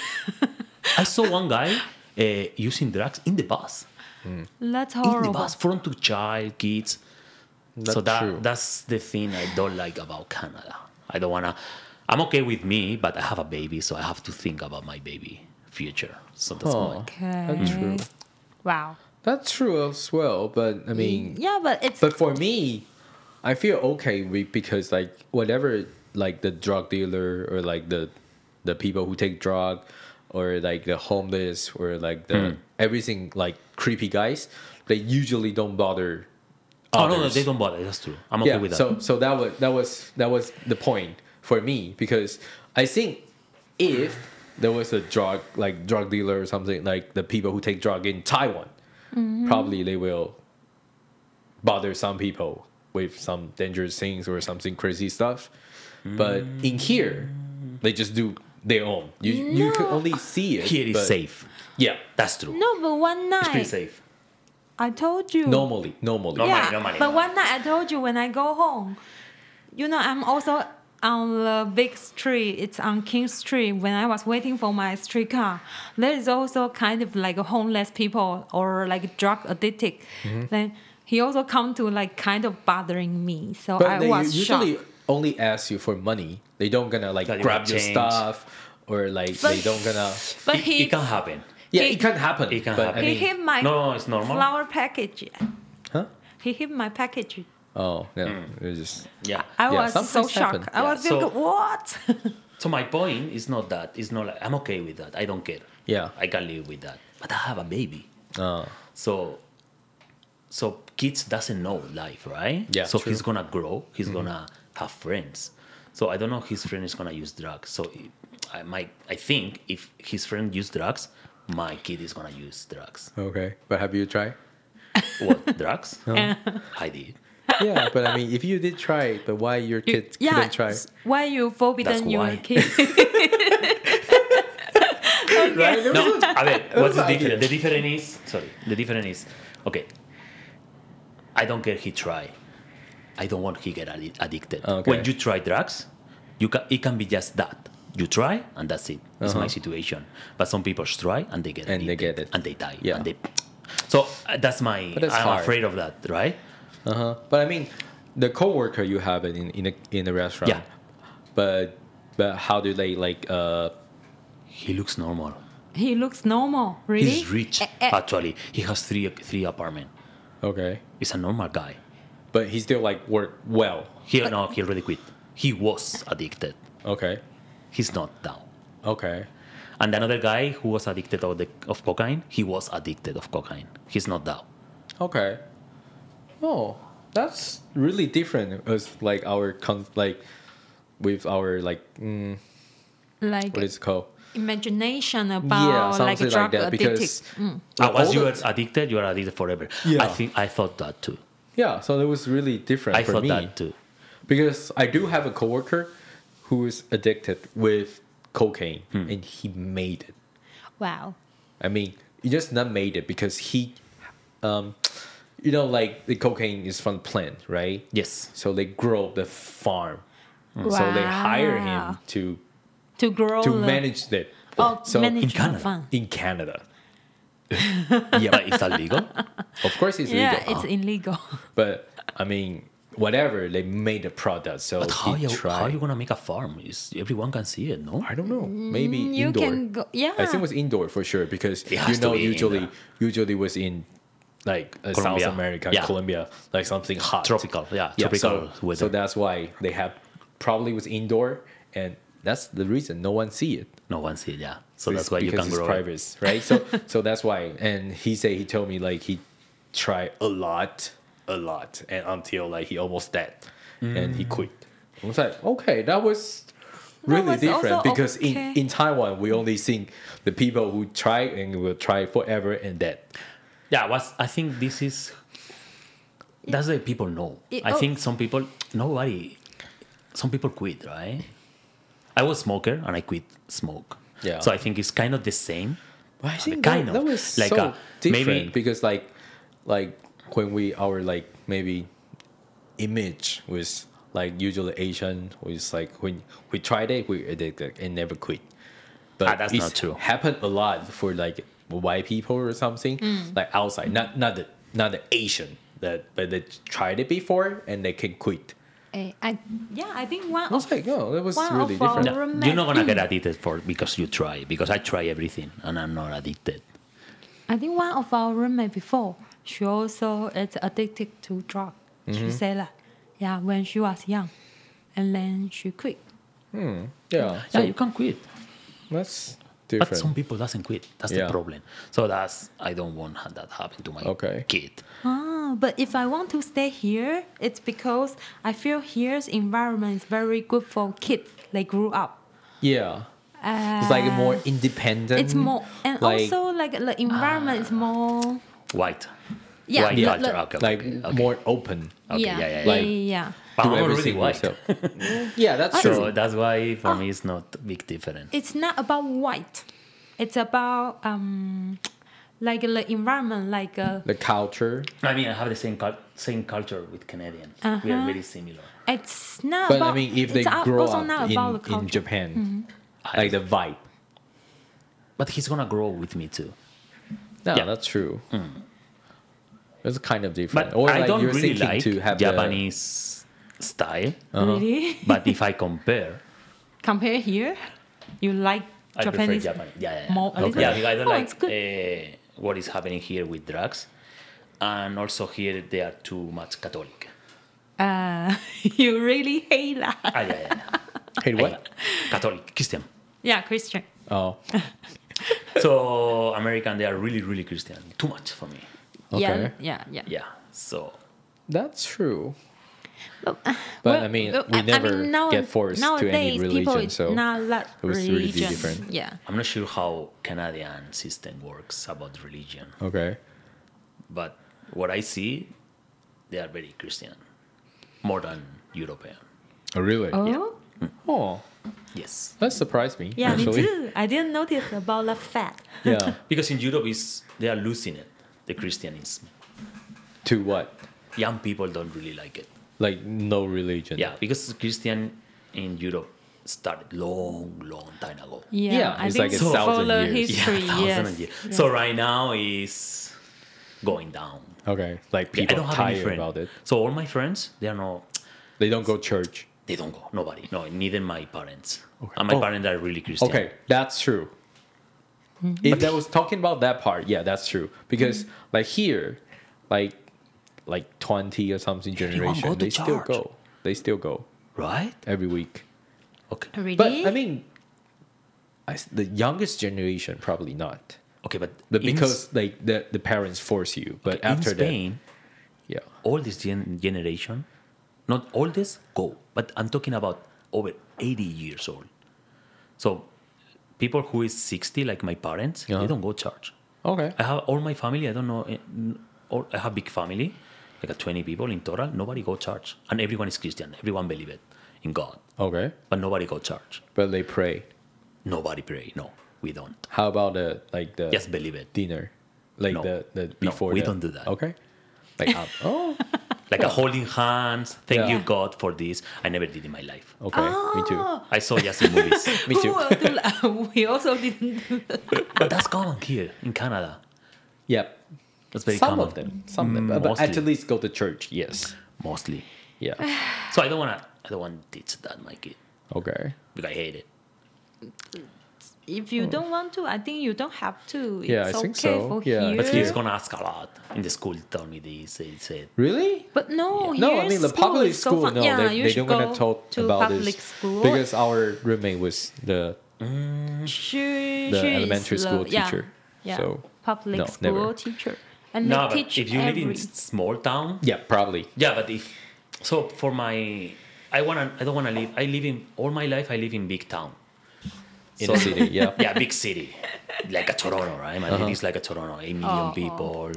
I saw one guy using drugs in the bus. That's In the horrible. bus, front to child, kids. So That's true. that's the thing I don't like about Canada. I don't wanna. I'm okay with me, but I have a baby, so I have to think about my baby future. So that's Oh, why. Okay. that's true. Wow. That's true as well. But I mean, Yeah, but it's but for me, I feel okay because like whatever, like the drug dealer or like the people who take drug, or like the homeless or like the everything like creepy guys, they usually don't bother. Oh no, others. they don't bother. That's true. I'm okay with that. So that was the point for me, because I think if there was a drug dealer or something, like the people who take drug in Taiwan, probably they will bother some people with some dangerous things or something crazy stuff. But in here, they just do their own. You can only see it. Here is but- safe. Yeah, That's true. no, but one It's pretty night safe. I told you. normally. Normal. Yeah, Normally. but one night I told you when I go home, I'm also on the big street. It's on King Street. When I was waiting for my streetcar, there is also kind of like a homeless people or like drug addicted. Then he also come to like kind of bothering me. So But I they was usually shocked. only ask you for money. They don't gonna like Like, grab your change. stuff, or like But- they don't gonna. But It can happen. Yeah, he- it can happen. It can but happen. I he mean, hit my No, it's normal. flower package. huh? He hit my package. Oh no, it was just. Yeah. I Yeah, was so sometimes shocked. happen. I was Yeah, so- thinking, what? So my point is not that. It's not like I'm okay with that. I don't care. Yeah. I can live with that. But I have a baby. Oh. So kids doesn't know life, right? Yeah, So true. he's gonna grow. He's gonna have friends. So I don't know if his friend is gonna use drugs. So I think if his friend use drugs, my kid is gonna use drugs. Okay, but have you tried? What drugs? I did. Yeah, but I mean, if you did try it, but why your kids couldn't try? Why you forbidden That's your why. kid? Right? There No, was a- a ver, what's the an idea. difference? The difference is, okay, I don't care he try. I don't want he get addicted. Okay. When you try drugs, it can be just that. You try and that's it. It's my situation. But some people try and they get And they addicted get it. and they die. Yeah. And so that's my. But that's I'm hard. afraid of that, right? But I mean, the coworker you have it in the restaurant. Yeah. But how do they like? He looks normal. He looks normal, really. He's rich. Actually, he has three apartments. Okay. He's a normal guy. But he still like work well. He already quit. He was addicted. Okay. He's not now. Okay. And another guy who was addicted of cocaine, he was addicted of cocaine. He's not now. Okay. Oh, that's really different. As like our with our like Like what is it called? imagination about like a something drug like that. addicted. Because Once you all are addicted, you are addicted forever. Yeah. I thought that too. yeah, so it was really different I for thought me that too. because I do have a coworker who is addicted with cocaine and he made it. Wow. I mean, he just not made it because he, like the cocaine is from plant, right? Yes. So they grow the farm. So they hire him To grow to the- manage that. Oh, so manage in the Canada. fun. in Canada, Yeah, but is that legal? of course it's Yeah, legal. it's illegal. But I mean, whatever they made a product. So But how he you tried. gonna make a farm? Everyone can see it, no? I don't know. Maybe You indoor. can go. Yeah. I think it was indoor for sure because It has to be usually was in like South Colombia. America, Yeah. Colombia, like something hot, Tropical, yeah, tropical so, weather. So that's why they have probably was indoor, and that's the reason no one see it. No one see it, yeah. So that's why you because can it's grow it. private, right? So that's why. And he told me like he tried a lot, and until like he almost dead, and he quit. I was like, okay, that was really was different also because okay. in Taiwan we only see the people who try and will try forever and dead. Yeah, I think this is that's the people know. I oh. think some people quit, right? I was smoker and I quit smoke. Yeah. So I think it's kind of the same. But I think Kind that of. was Like, so different maybe- because like when our like maybe image was like usually Asian was like when we tried it we addicted and never quit. But that's it's not true. Happened a lot for like white people or something like outside, not the Asian but they tried it before and they can quit. I think one I was of like, oh, that was one really of our different. Yeah. roommate- You're not gonna get addicted because you try. Because I try everything and I'm not addicted. I think one of our roommate before, she also is addicted to drug. She said that, yeah, when she was young, and then she quit. Yeah, Yeah, so you can quit. that's But different. some people doesn't quit. That's Yeah. the problem. So I don't want that happen to my Okay. kid. But if I want to stay here, it's because I feel here's environment is very good for kids. They grew up. Yeah. It's like more independent. It's more, and like, also like the environment is more. White. Yeah, White culture. Okay, like okay. more open. Okay, yeah, yeah. Like- yeah. But Do I'm already everything white. yourself. Yeah, that's So true. that's why for me it's not a big difference. It's not about white. It's about like the environment, like The culture. I mean, I have the same culture with Canadians. We are very similar. it's not But about. I mean, if they it's grow also up not about the in culture. Japan, like the vibe. But he's gonna grow with me too. No, Yeah. that's true. It's kind of different. But Or I like don't you're really thinking like to have Japanese style. Really? But if I compare, Compare here, you like I Japanese prefer Japanese. Yeah. more. a little? Yeah, because I don't Oh, like it's good. what is happening here with drugs, and also here they are too much Catholic. You really hate that. Yeah. Hey, what? Catholic, Christian. Yeah, Christian. Oh, So American, they are really, really Christian. Too much for me. okay. Yeah. Yeah. So That's true. But Well, I mean, well, we never now- get forced to any nowadays, people religion, is so not that it was really religion. different. Yeah. I'm not sure how Canadian system works about religion, okay. but what I see, they are very Christian. more than European. Oh, really? Oh, Oh, Yes. that surprised me. yeah, actually. me too. I didn't notice about the fat. Yeah. Because in Europe, they are losing it, the Christianism. To what? Young people don't really like it. Like no religion. Yeah, because Christian in Europe started long time ago. Yeah, Yeah, I it's think like a for thousand the years. history, thousand yes. years. yes. So right now is going down. Okay. Like Yeah, I people don't have any tired friend. about it. So all my friends, they are not. They don't go church. They don't go. Nobody. No, neither my parents. Okay. And my Oh. parents are really Christian. Okay, that's true. If I was talking about that part, yeah, that's true. Because like here, like 20 or something Everyone generation, go to they still church. go. They still go Right? every week. Okay. Really? But I mean, the youngest generation probably not. Okay, but Because like the parents force you. But after in Spain, that, yeah. all this generation, not all this go, but I'm talking about over 80 years old. So people who is 60, like my parents, Uh-huh. they don't go church. Okay. I have all my family. I don't know. I have big family, like 20 people in total. Nobody go church, and everyone is Christian. Everyone believe it in God, Okay. but nobody go church. But they pray. Nobody pray. No, we don't. How about the Just believe it. dinner? Like No. the No, before we the- don't do that. Okay. Like oh, Like a holding hands. Thank Yeah. you God for this. I never did in my life. okay. Me too. Oh, I saw just in movies. Me who too. will do that? We also didn't do that. But that's common here in Canada. Yep. That's very Some common. of them. Some of them. But Mostly. at least go to church. Yes. Mostly. Yeah. So I don't want to teach that my kid Okay. because I hate it. If you don't want to, I think you don't have to. It's Yeah, I okay think so. for Yeah. here. But he's gonna ask a lot. In the school, tell me this. They said, Really? But no, No, here I mean the school public is so school. fun. No, Yeah, they you they should don't want go to talk to about public this school because our roommate was the she elementary is school yeah, teacher. Yeah, So, public no, school never. teacher, and no, they but teach if you live in every. small town, yeah probably yeah. But if so, for my, I don't wanna live. I live in all my life. I live in big town. in So- the city. Yeah. Yeah, big city, like a Toronto, right? My city is like a Toronto, 8 million Oh, people,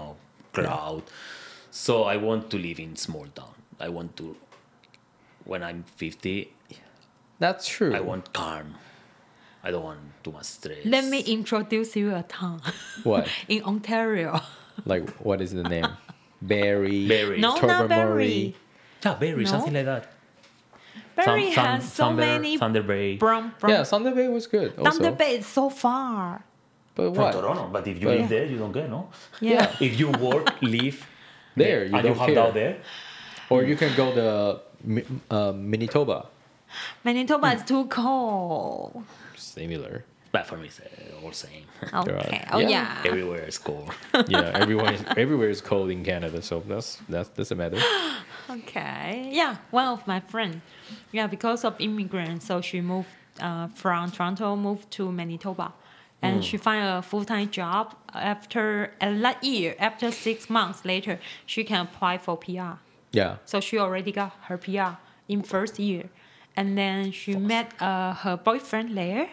crowd. So I want to live in small town. I want to, when I'm 50, That's true. I want calm. I don't want too much stress. Let me introduce you a town What? in Ontario. Like what is the name? Barry. Barry. No, not Tobermory. Barry. Yeah, Barry, No. something like that. Barry has so many Thunder Bay. brown. Yeah, Thunder Bay was good. Also. Thunder Bay is so far. But From what? Toronto, but if you But- live there, you don't get, no? Yeah. If you work, live There, you and don't you have care. down there, Or you can go to Manitoba. Manitoba is too cold. Similar. but for me, it's all same. Okay. Right. Oh Yeah. yeah. Everywhere is cold. Yeah, everywhere is cold in Canada, so that doesn't matter. Okay. Yeah. One of my friend. Yeah, because of immigrants, so she moved from Toronto, moved to Manitoba, and she find a full-time job. After that year, after 6 months later, she can apply for PR. Yeah. So she already got her PR in first year, and then she met her boyfriend there.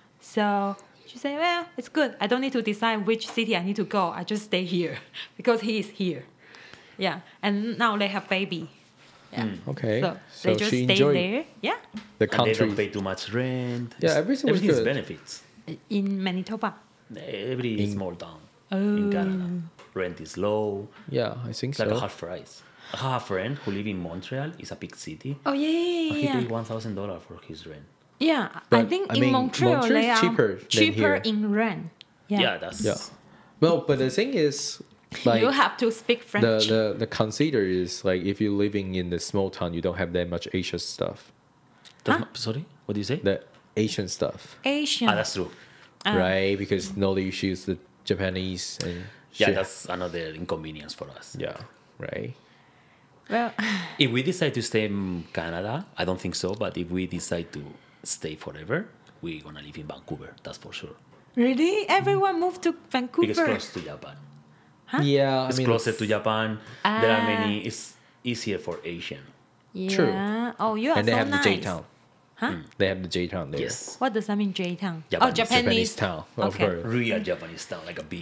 So she said, "Well, it's good. I don't need to decide which city I need to go. I just stay here because he is here." Yeah, and now they have baby. Yeah. Okay. So So they just she stay enjoyed there. Yeah, the And they country. don't pay too much rent. Yeah, everything was is good. benefits. in Manitoba. Every small town in Canada. Rent is low. Yeah, I think It's like so. a half price. I have a friend who live in Montreal. It's a big city. Oh yeah, He yeah, paid yeah. $1,000 for his rent. Yeah, I But, think I in mean, Montreal Montreal they is are cheaper than cheaper here. in rent. Yeah. Yeah, that's Yeah. Well, but the thing is, like you have to speak French. the consider is like if you're living in the small town, you don't have that much Asian stuff. Sorry, what do you say? The Asian stuff, Asian. That's true. right? Because no, they choose the Japanese and Yeah, shit. that's another inconvenience for us. yeah, right. Well, If we decide to stay in Canada, I don't think so, but if we decide to stay forever, we're gonna live in Vancouver, that's for sure. really, everyone moved to Because Vancouver. it's close to Japan. Huh? Yeah, It's I mean, closer to Japan. There are Ah. many. It's easier for Asian. Yeah. True. Oh, you are and they so have nice. the J town. Huh? They have the J town there. Yes, What does that mean, J town? Japanese- Oh, Japanese. Japanese town, of Okay. course. real Japanese town, like a big.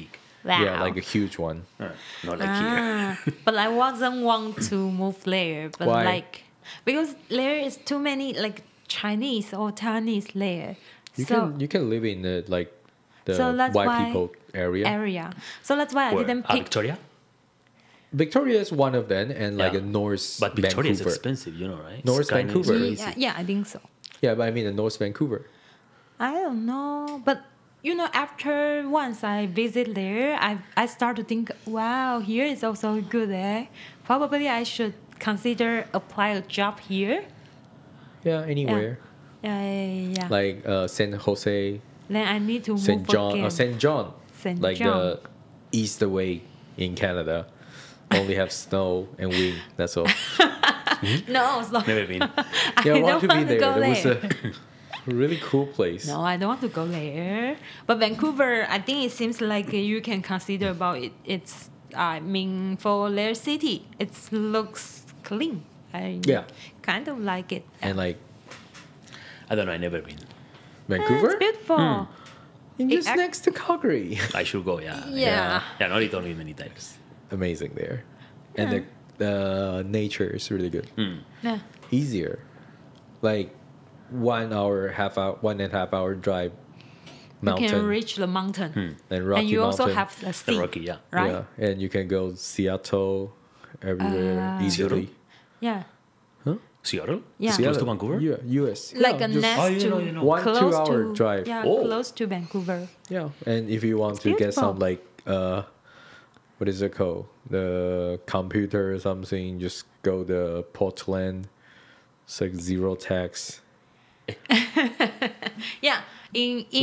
Wow. Yeah, like a huge one. Not like here. But I wasn't want to move there. But Why? like because there is too many like Chinese or Taiwanese there. You can live in the So that's white why- people area. So that's why I Where? didn't pick. Victoria? Victoria is one of them, and like Yeah. a North But Victoria is Vancouver. expensive, you know, right? North Skyline is Vancouver. crazy. Yeah, I think so. Yeah, but I mean the North Vancouver. I don't know, but you know, after once I visit there, I start to think, wow, here is also good. Probably I should consider apply a job here. Yeah, anywhere Yeah. like San Jose, Then I need to Saint move John, again. Saint John, Saint like John. the east away in Canada, only have snow and wind. That's all. No, so Never been. Yeah, I I want to don't be want to there. go It was there. a really cool place. No, I don't want to go there. But Vancouver, I think it seems like you can consider about it. It's, I mean, for their city, it looks clean. I Yeah. kind of like it. And like I don't know. I never been. Vancouver, It's beautiful. And just It- next to Calgary. I should go. Yeah. Yeah. Yeah. Nori told me many times. Amazing there, and the nature is really good. Yeah. Easier, like 1 hour, 1.5 hour drive, You mountain can reach the mountain. and Rocky And you also Mountain. have the sea. Rocky, yeah. Right? Yeah, and you can go Seattle, everywhere easily. Yeah. Seattle? Yeah. It's close to Vancouver? U.S. Like yeah, a just- next Oh, you to know, you know. 1-2 close hour to, drive. Yeah, Oh. close to Vancouver. Yeah, and if you want to get beautiful. some like what is it called? The computer or something, just go to Portland. It's like zero tax. Yeah. In